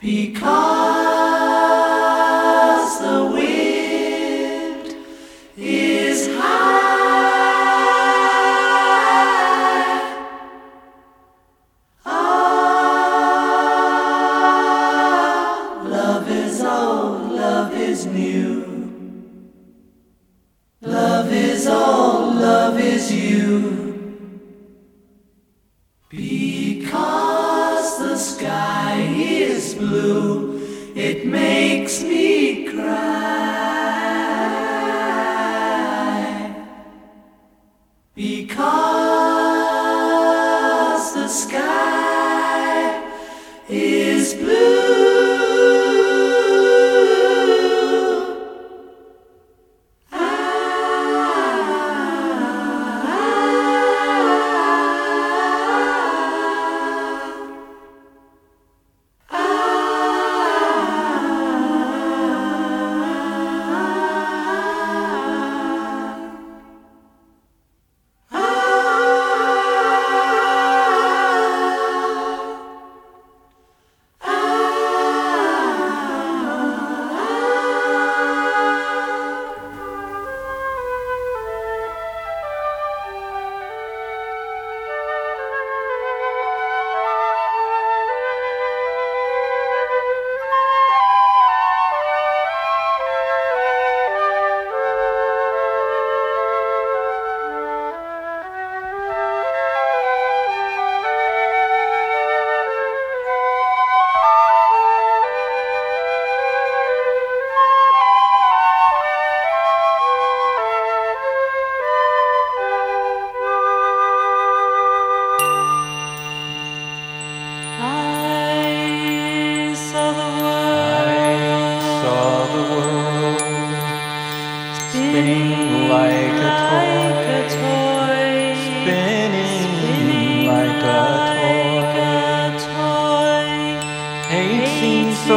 because the wind is high. Ah, love is old, love is new. Love is old, love is you. Because the sky is blue, it makes me cry. Because the sky is blue. Spinning like a toy, spinning like a toy. It seems so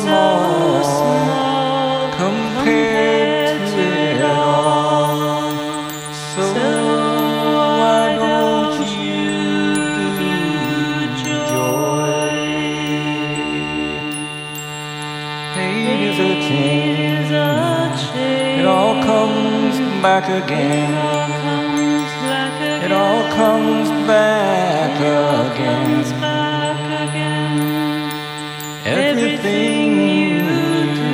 small compared to it all. So why don't you do joy? Hate is a chain. It all comes back again. It all comes back again. Everything you do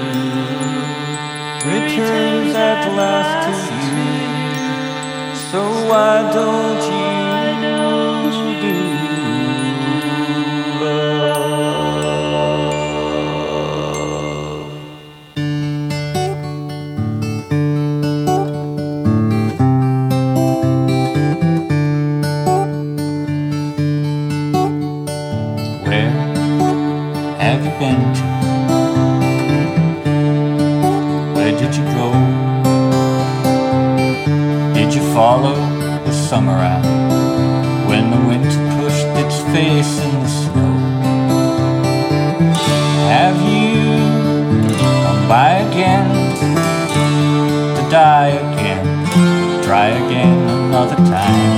returns at last to you. So why don't you do love? Have you been to? Where did you go? Did you follow the summer out when the winter pushed its face in the snow? Have you come by again to die again, try again another time?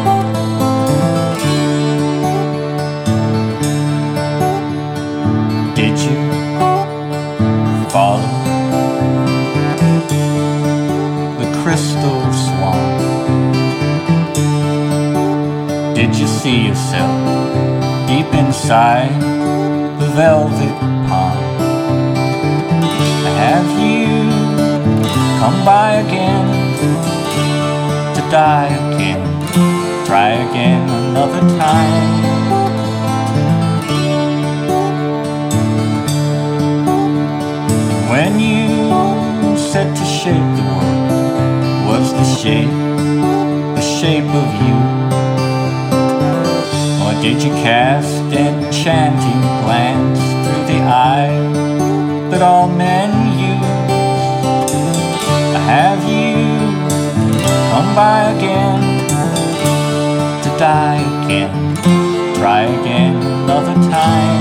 Did you follow the crystal swan? Did you see yourself deep inside the velvet pond? Have you come by again to die again, try again another time? When you set to shape the world, was the shape of you? Or did you cast enchanting glance through the eye that all men use? Have you come by again to die again, try again another time?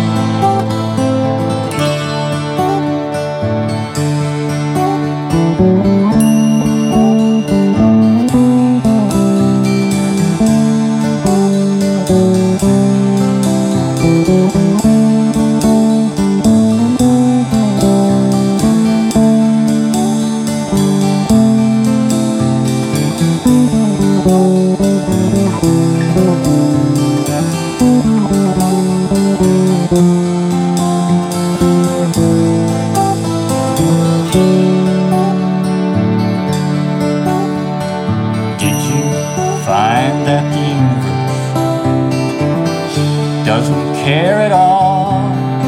care at all?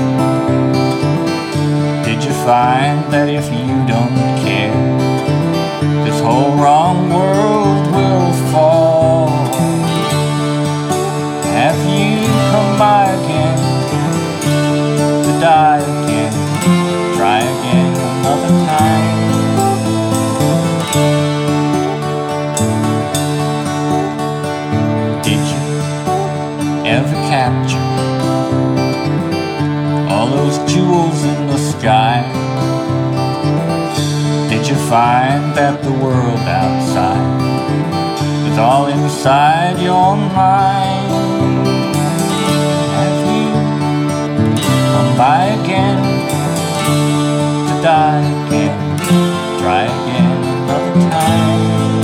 Did you find that if you don't care, this whole wrong world will fall? Have you come by again to die again, try again another time? Did you ever capture all those jewels in the sky? Did you find that the world outside is all inside your mind? Have you come by again to die again, try again another time?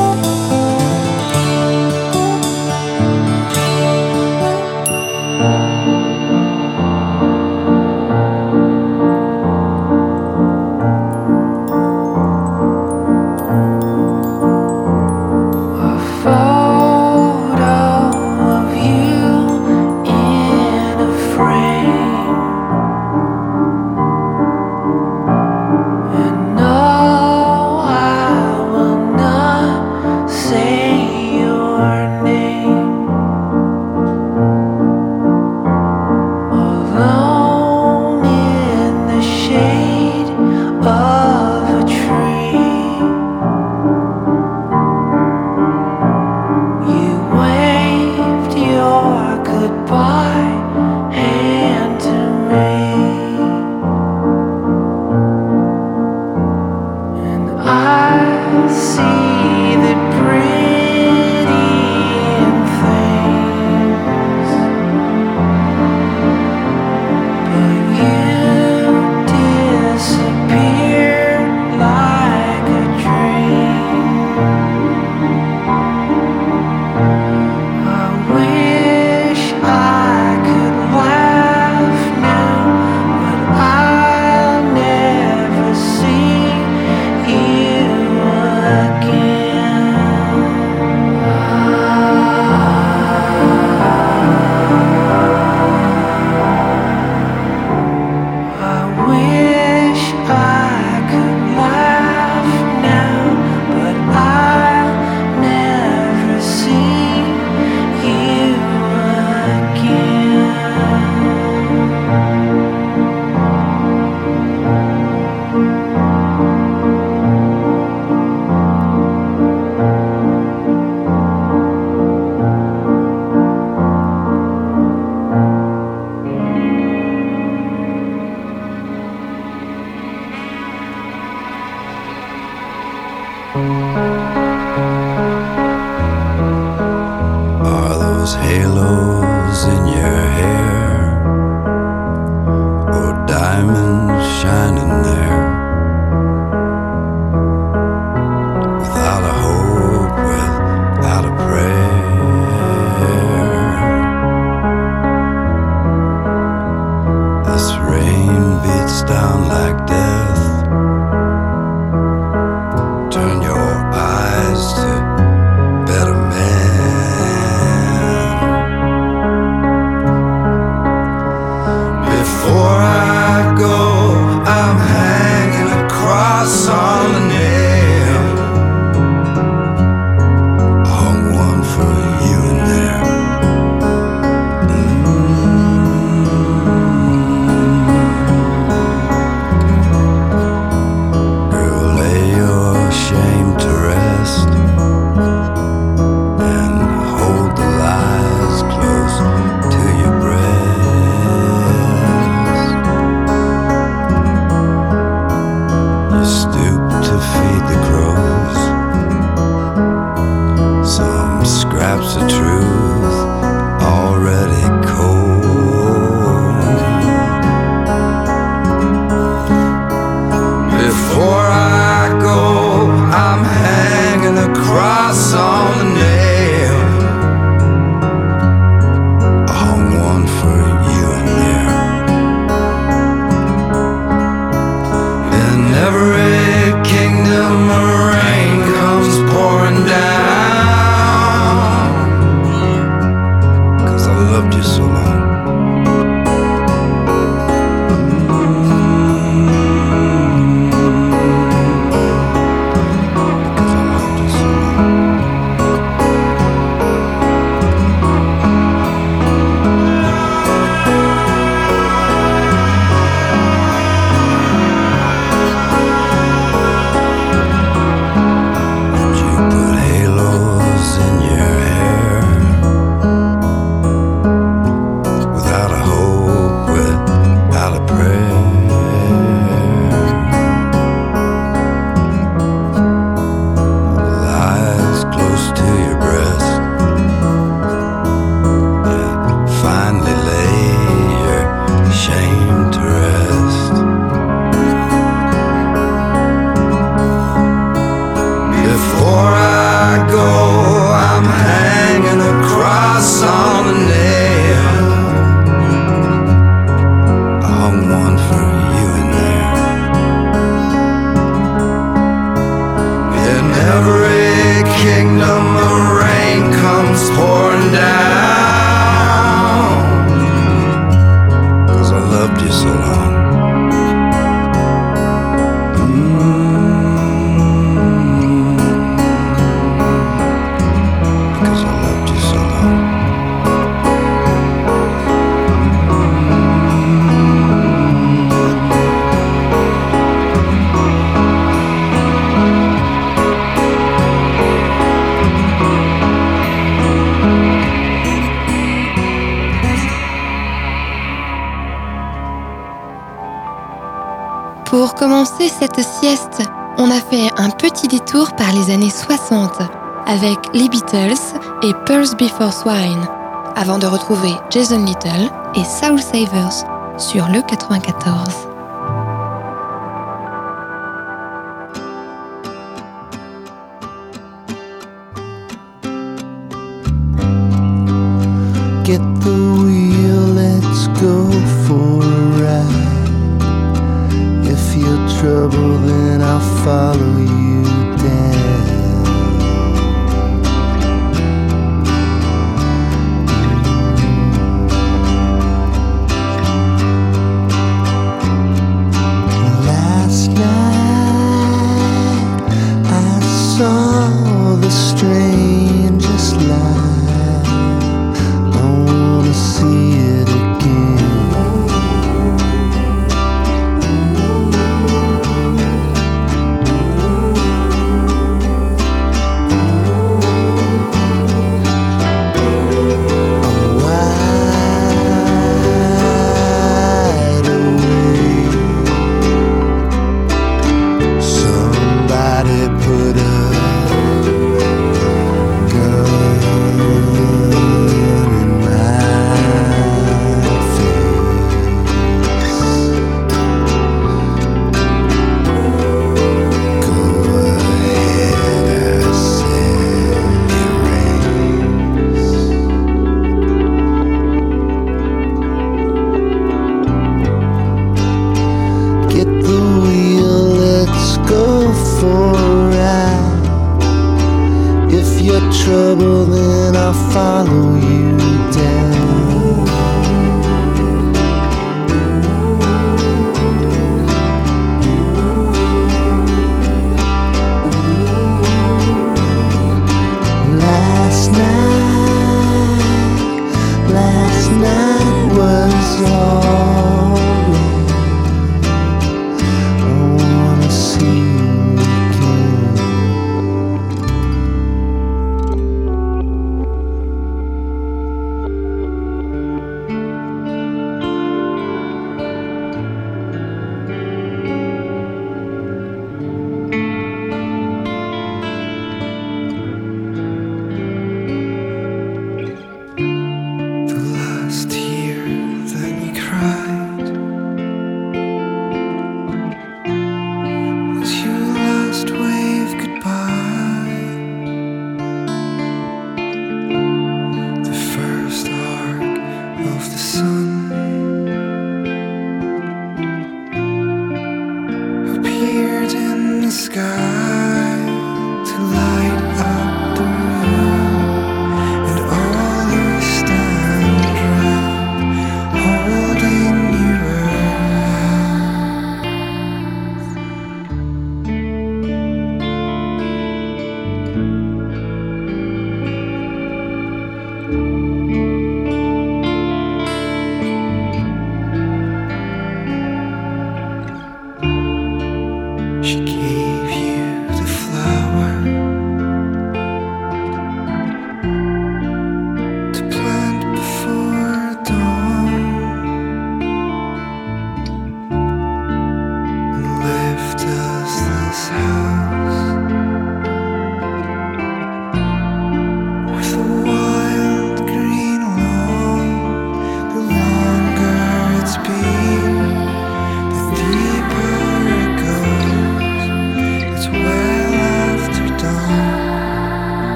Are those halos in your hair, or diamonds shining there? Without a hope, without a prayer, this rain beats down like death. Turn your eyes to better men. Before I go, I'm hanging. Pour commencer cette sieste, on a fait un petit détour par les années 60 avec les Beatles et Pearls Before Swine, avant de retrouver Jason Little et Soul Savers sur le 94. Get the wheel, let's go for a ride. If you're trouble, then I'll follow you down. Last night I saw the strangest light. See it again. I'm wide awake. Somebody put a gun in my trouble, then I'll follow you down. Last night was alright. I wanna see you again.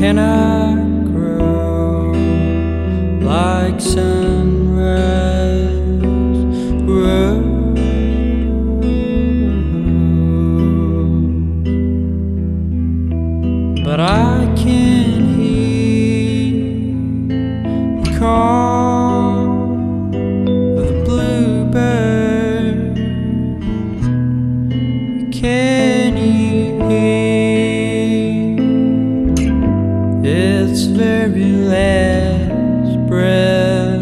cannot grow like sunrise grows. But I can hear the call of the bluebird. Can you hear its very last breath?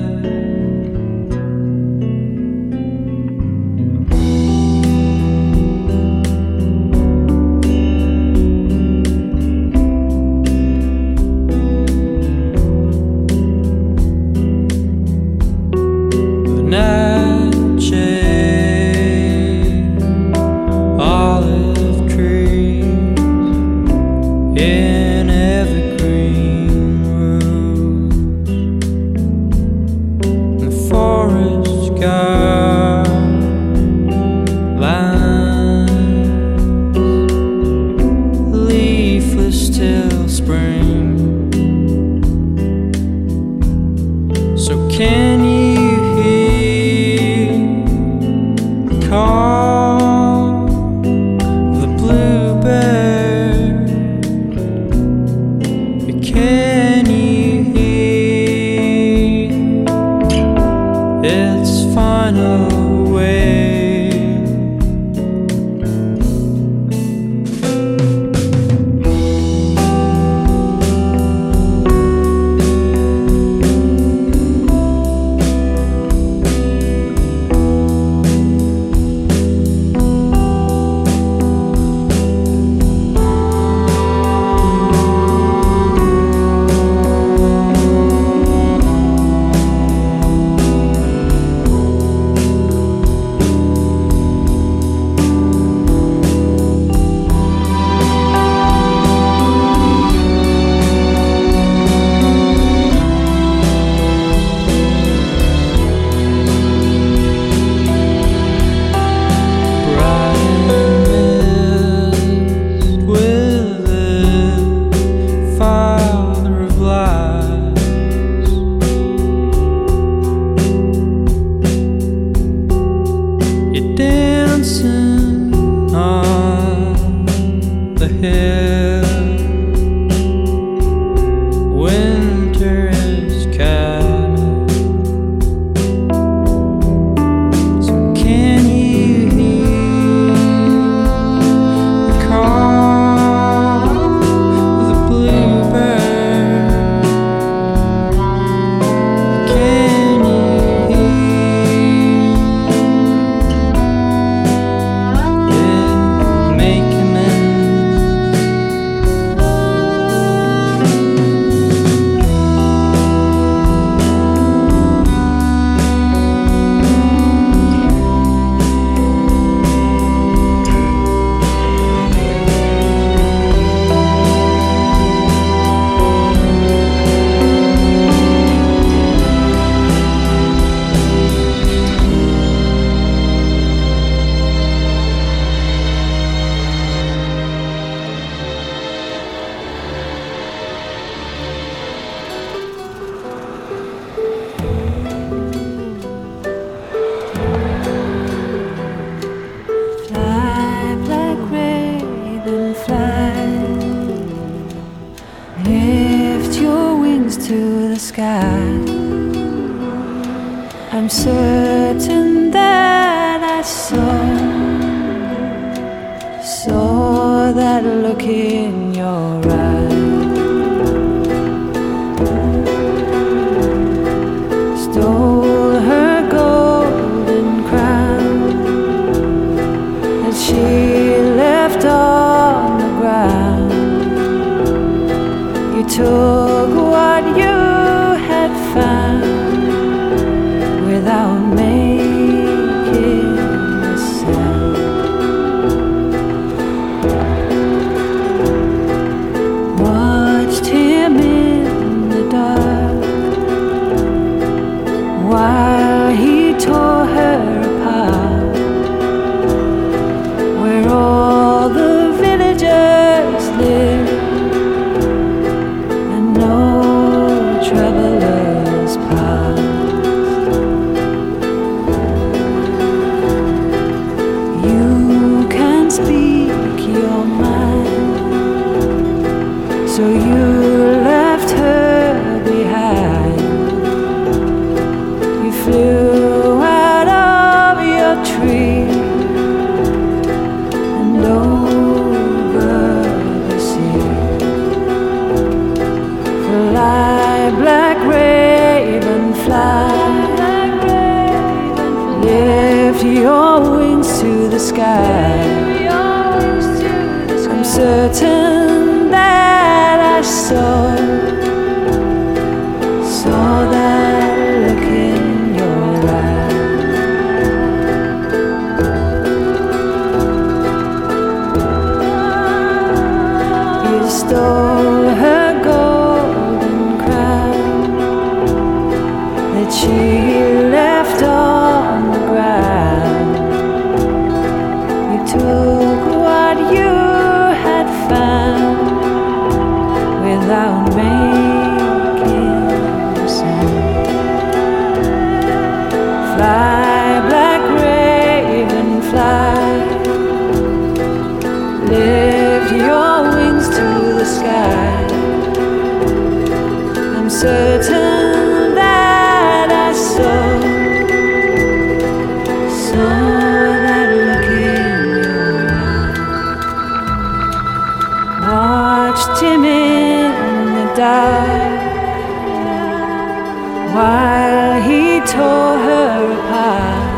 I'm certain that I saw that look in your eyes. Stole her golden crown that she left on the ground. You took what you had found without making a sound. Watched him in the dark while he tore her apart, where all the villagers live So you left her behind. You flew out of your tree and over the sea. Fly, black raven, fly. Lift your wings to the sky. I'm certain that I saw that look in your eyes. You stole her golden crown that she left on the ground. You took what you had found without making a sound. Fly, black raven, fly. Lift your wings to the sky. I'm certain that I saw that look in your eye. Watched him in the dark while he tore her apart,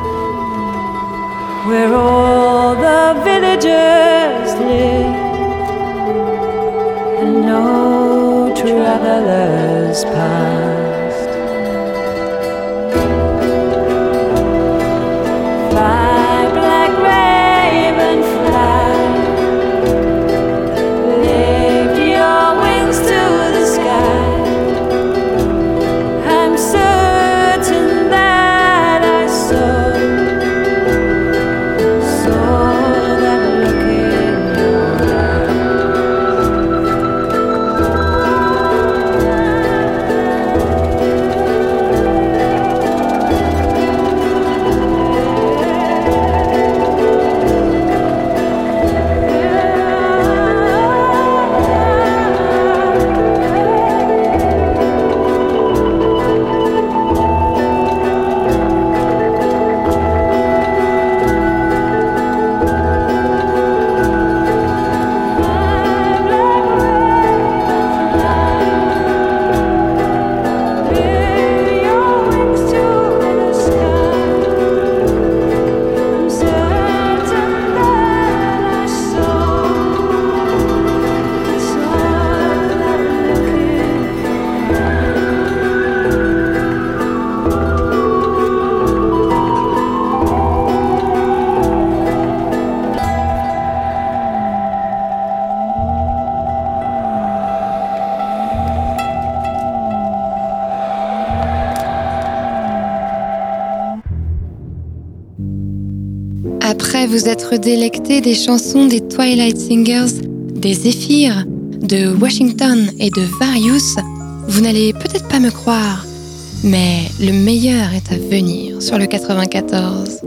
where all the villagers live and no travelers passed. Fly, black raven, fly. Lift your wings to the sky. I'm certain that I saw that look in your Après vous être délecté des chansons des Twilight Singers, des Zéphyrs, de Washington et de Various, vous n'allez peut-être pas me croire, mais le meilleur est à venir sur le 94.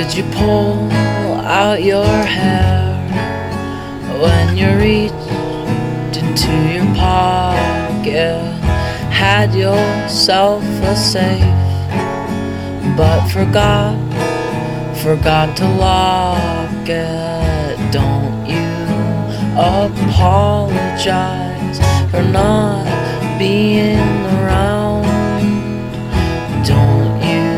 Would you pull out your hair when you reached into your pocket? Had yourself a safe, but forgot to lock it. Don't you apologize for not being around. Don't you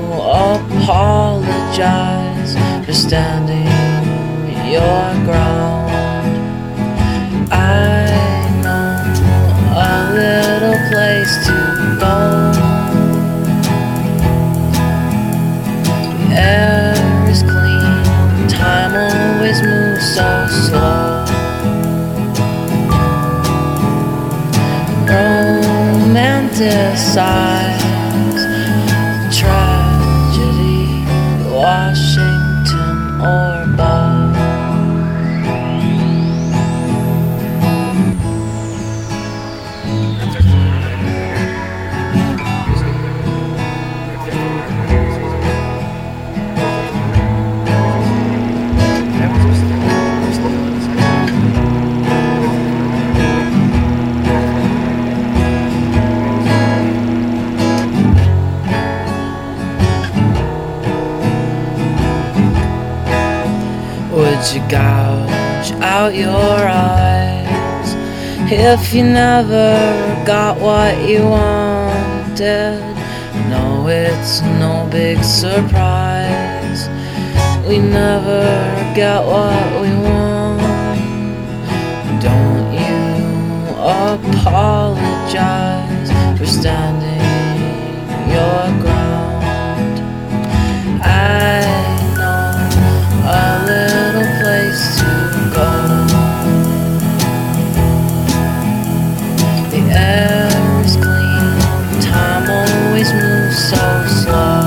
apologize for standing your ground. I know a little place to go. The air is clean, time always moves so slow. Romanticize tragedy, Washington or Buzz. Would you gouge out your eyes if you never got what you wanted? No, it's no big surprise. We never get what we want. Don't you apologize for standing your ground. I know a little place to go. The air is clean, time always moves so slow.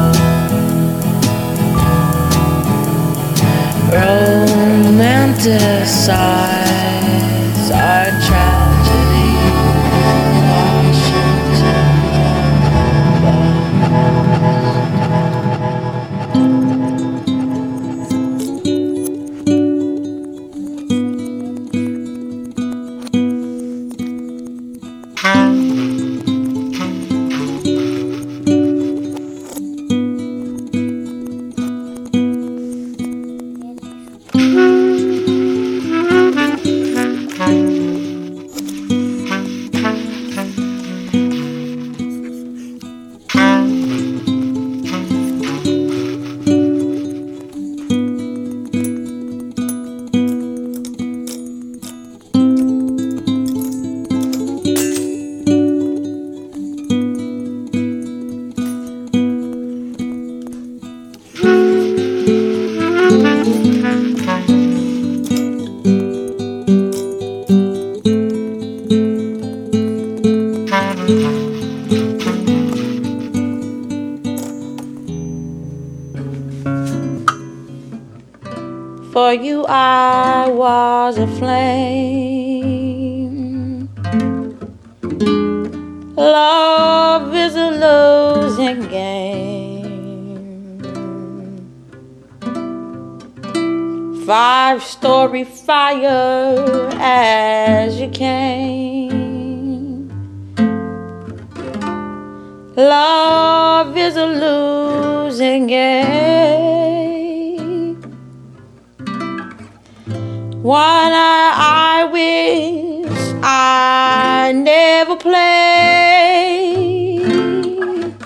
Romanticize our tragedy, Washington. For you I was a flame. Love is a losing game. 5-story fire as you came. Love is a losing game. One I wish I never played.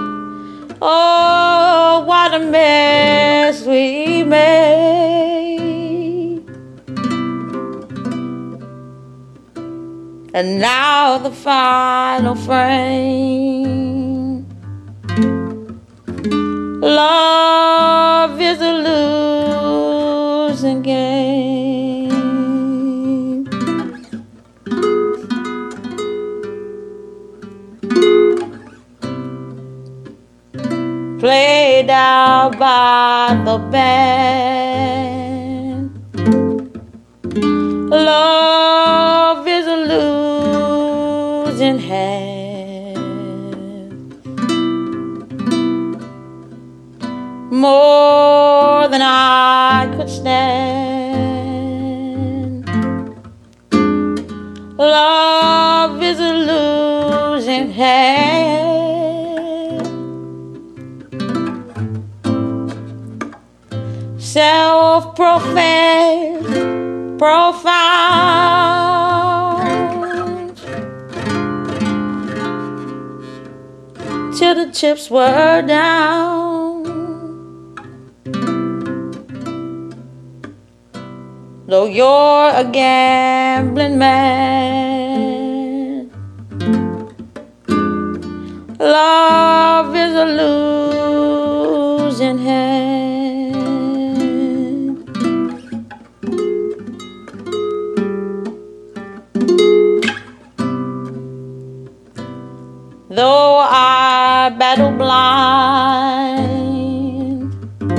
Oh, what a mess we made. And now the final frame. Love is a losing game. Played out by the band. Love is a losing hand. More Love is a losing hand. Self-professed, profound, till the chips were down. Though you're a gambling man, love is a losing hand. Though I battle blind,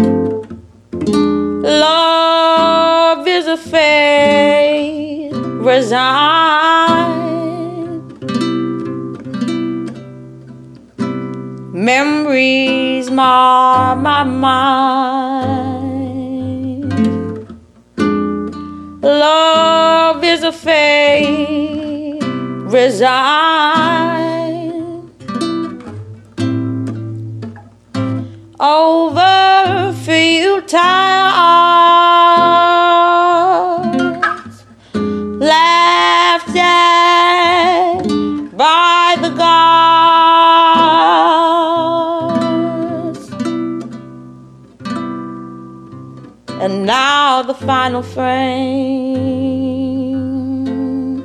love is a fate resigned. Memories mar my mind. Love is a fate resigned. Over futile odds, laughed at by the gods, and now the final frame.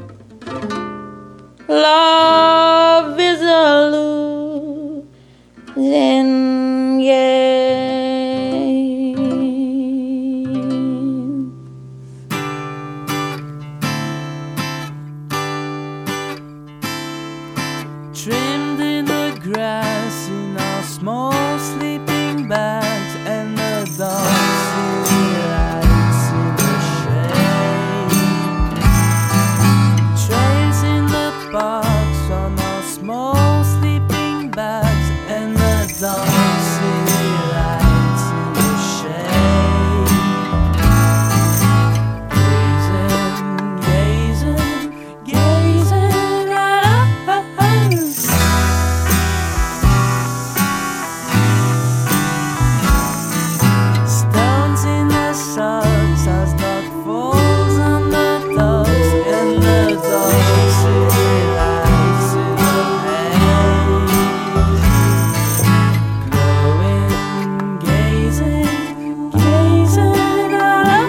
Love is a losing game. Trimmed in the grass in our small sleeping bags, and the dark city lights in the shade. Trails in the parks on our small sleeping bags, and the dark city lights in the shade. Gazing, gazing, gazing at us. Stones in the suds as dark falls on the dogs, and the dark city lights in the haze. Glowing, gazing, gazing at us.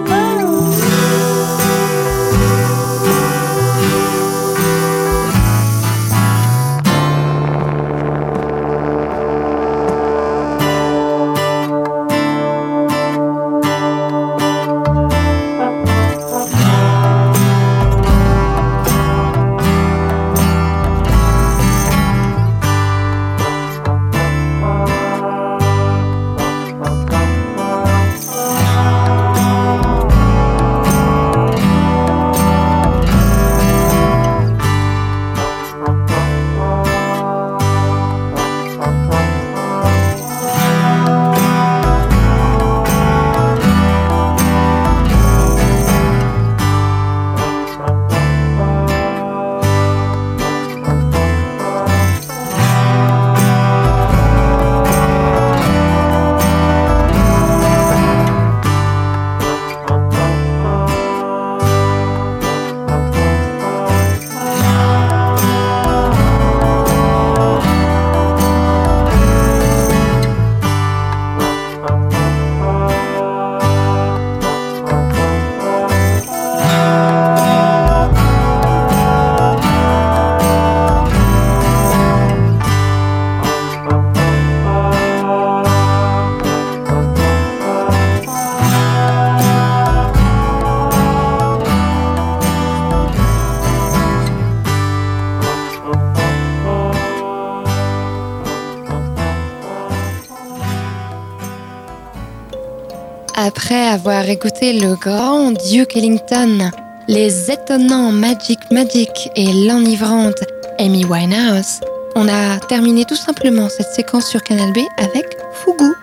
Après avoir écouté le grand Duke Ellington, les étonnants Magic et l'enivrante Amy Winehouse, on a terminé tout simplement cette séquence sur Canal B avec Fougou.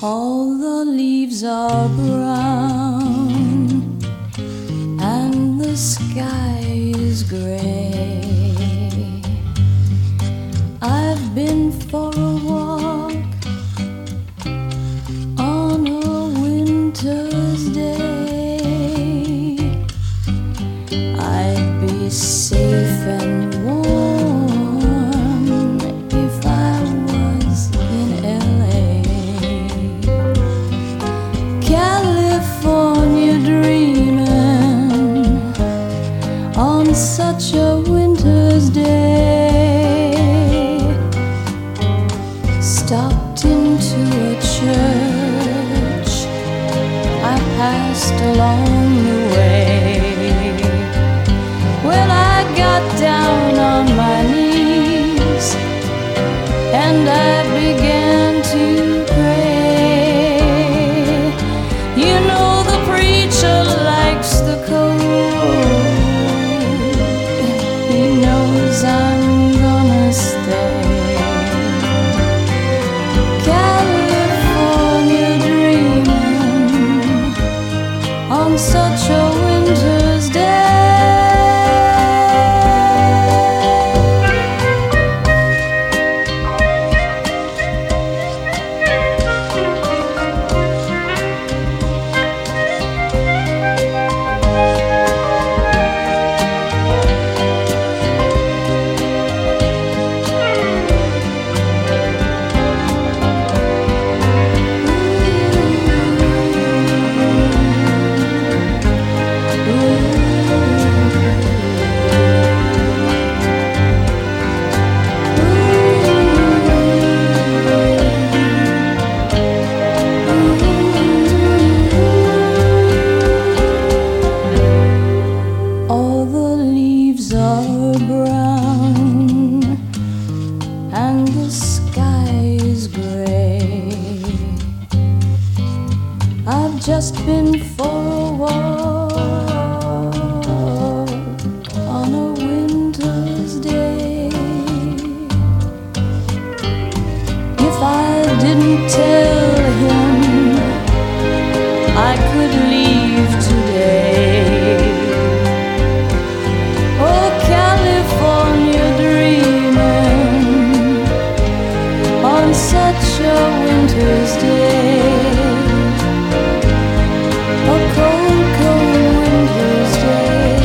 All the leaves are brown and the sky is gray. I've been for a walk on a winter's day. I'd be safe and warm if I was in LA. California dreaming on such a winter's day. Stopped into a church I passed along the way. Well, I got down on my knees and I began to pray. You know the preacher likes the cold. He knows I'm gonna stay. California dreaming on such a winter's day. All the leaves are brown and the sky is gray. I've just been for a walk on a winter's day. If I didn't tell him I could leave today. Oh, California dreaming on such a winter's day. A cold, cold winter's day.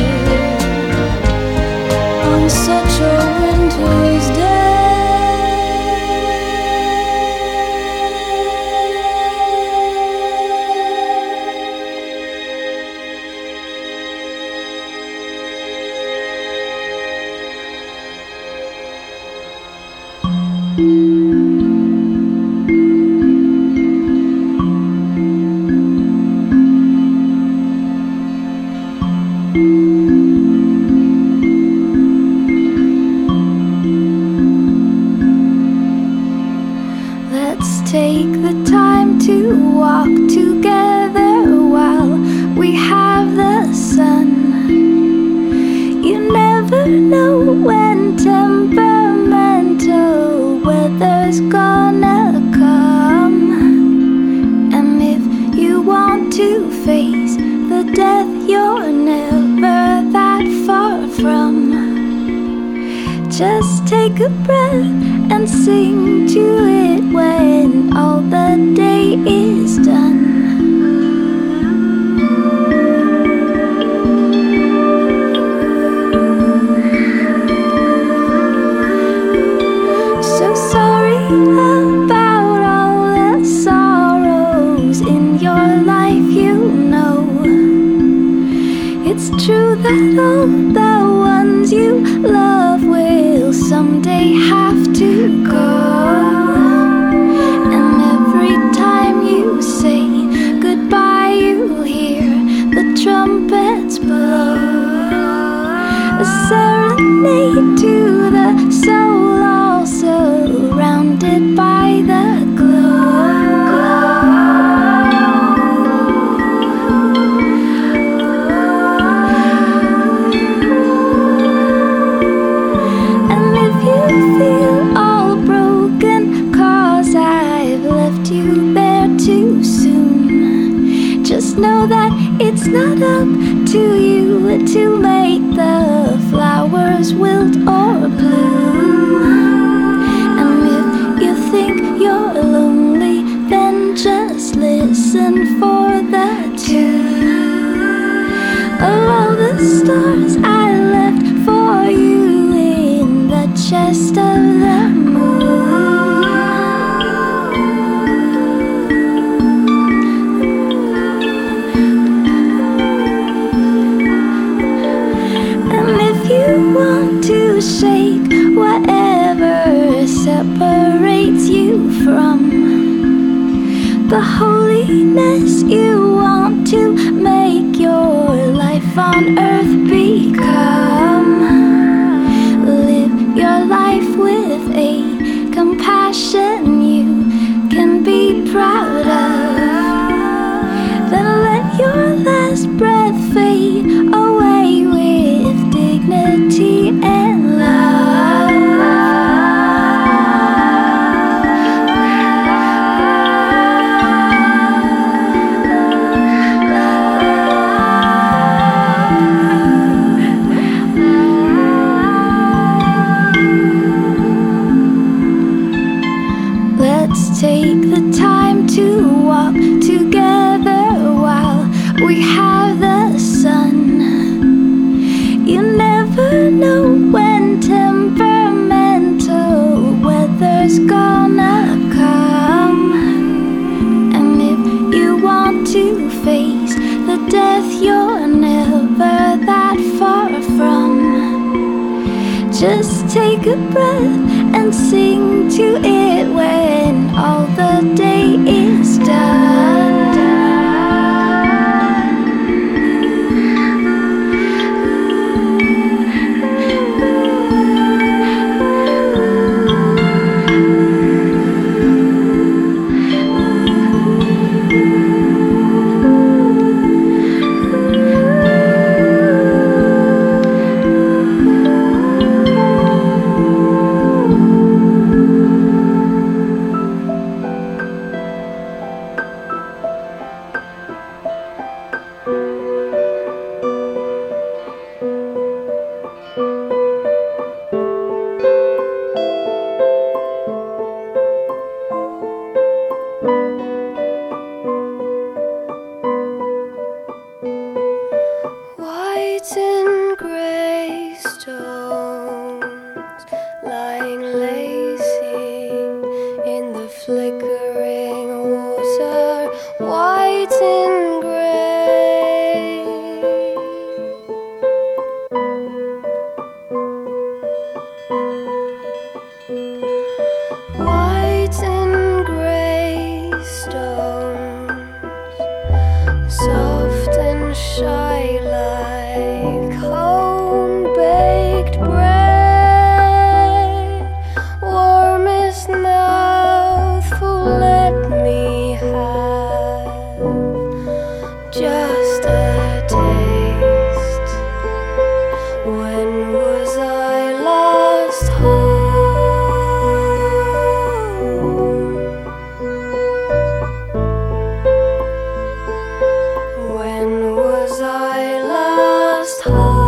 On such a winter's day. Let's take the time to walk together while we have the sun. You never know when temperamental weather's gonna come. And if you want to face the death you're never that far from, just take a breath and sing to it when all the day is done. So sorry about all the sorrows in your life, you know. It's true that all the ones you love will someday have to go. And every time you say goodbye, you hear the trumpets blow. A serenade to the soul, all surrounded by the glow. And if you feel all broken, 'cause I've left you there to know that it's not up to you to make the flowers wilt or bloom. And if you think you're lonely, then just listen for the tune of all the stars I left for you in the chest of the moon. And if you want to shake whatever separates you from the holiness you want to make your life on earth become, live your life with a compassion you can be proud of. Then let your last breath fade away with dignity and love. Take the time to walk together while we have the sun. You never know when temperamental weather's gonna come. And if you want to face the death you're never that far from, just take a breath and sing to it when all the day is done. White and grey stones lying lazy in the flickering water. White and grey. White and grey stones, soft and shy like home-baked bread. Warmest mouthful let me have, just a taste. When was I last home? When was I last home?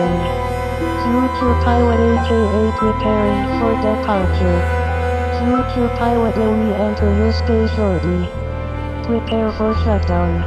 landing. Future pilot AKA preparing for departure. Future pilot will re-enter his space shortly. Prepare for shutdown.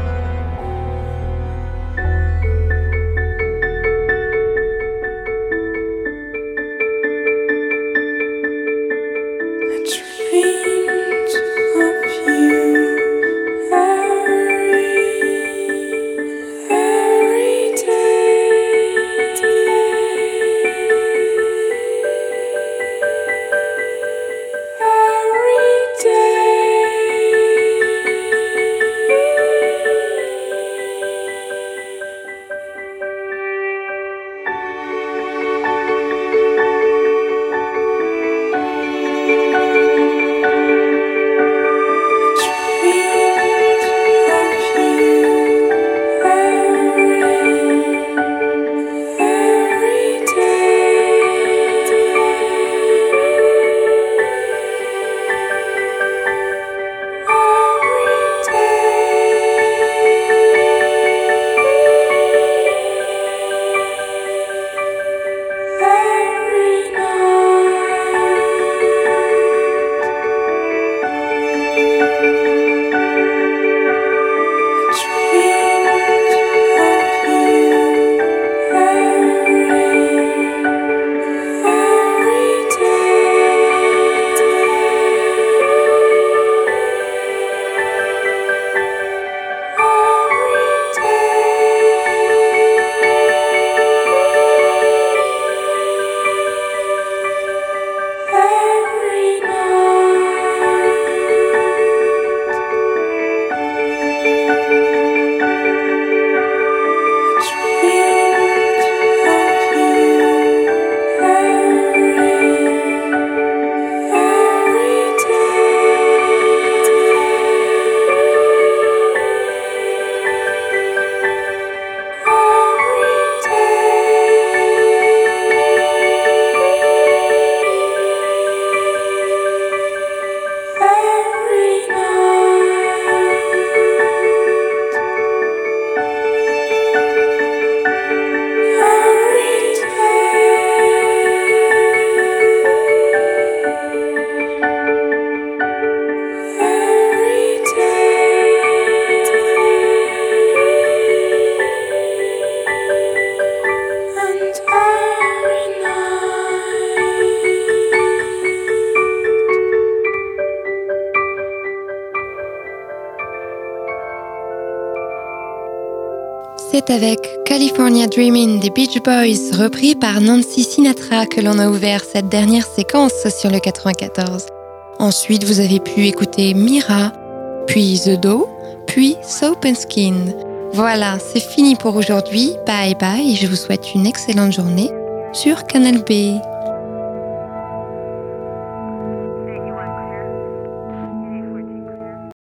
C'est avec California Dreamin' des Beach Boys, repris par Nancy Sinatra, que l'on a ouvert cette dernière séquence sur le 94. Ensuite, vous avez pu écouter Mira, puis The Doe, puis Soap and Skin. Voilà, c'est fini pour aujourd'hui. Bye bye et je vous souhaite une excellente journée sur Canal B.